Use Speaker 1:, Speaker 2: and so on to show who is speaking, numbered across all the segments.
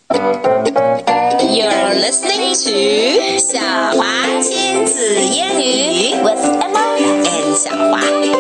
Speaker 1: You're listening to 小华亲子英语 with Emma and 小华。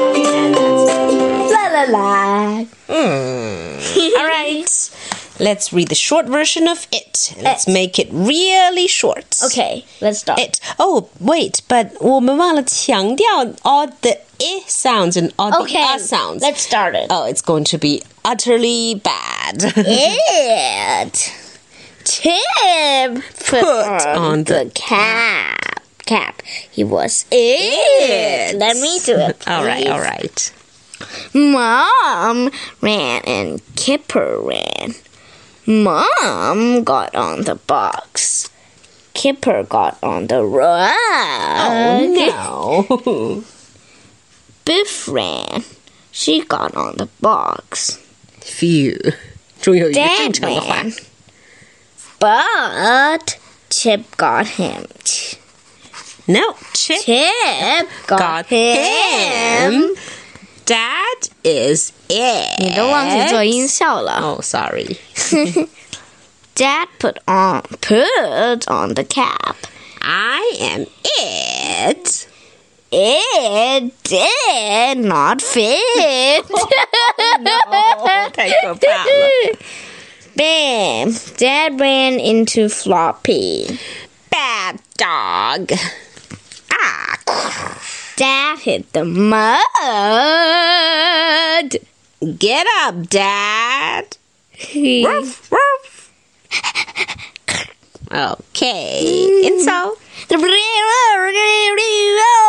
Speaker 2: 啦啦啦。
Speaker 1: All right, let's read the short version of it. Let's make it really short.
Speaker 2: Okay, let's start.
Speaker 1: It. Oh, wait, but 我们忘了强调 all the I sounds and all the
Speaker 2: Okay,
Speaker 1: sounds.
Speaker 2: let's start it.
Speaker 1: Oh, it's going to be utterly bad.
Speaker 2: It. Tim put
Speaker 1: on the
Speaker 2: cap. He was it. Let me do it.
Speaker 1: All
Speaker 2: please.
Speaker 1: right.
Speaker 2: Mom ran and Kipper ran. Mom got on the box. Kipper got on the rug.
Speaker 1: Oh, no.
Speaker 2: Biff ran. She got on the box.
Speaker 1: Phew. 终于有一个正
Speaker 2: Dad
Speaker 1: 常的话。
Speaker 2: ran. But Chip got him.
Speaker 1: No, Chip
Speaker 2: Chip got
Speaker 1: him. Dad is it.
Speaker 2: 你都忘记做音效了。
Speaker 1: Oh, sorry.
Speaker 2: Dad put on the cap.
Speaker 1: I am it.
Speaker 2: It did not fit.
Speaker 1: No, 太可怕了。
Speaker 2: Bam! Dad ran into Floppy.
Speaker 1: Bad dog. Ah.
Speaker 2: Dad hit the mud.
Speaker 1: Get up, Dad. Ruff, ruff. Okay. And so.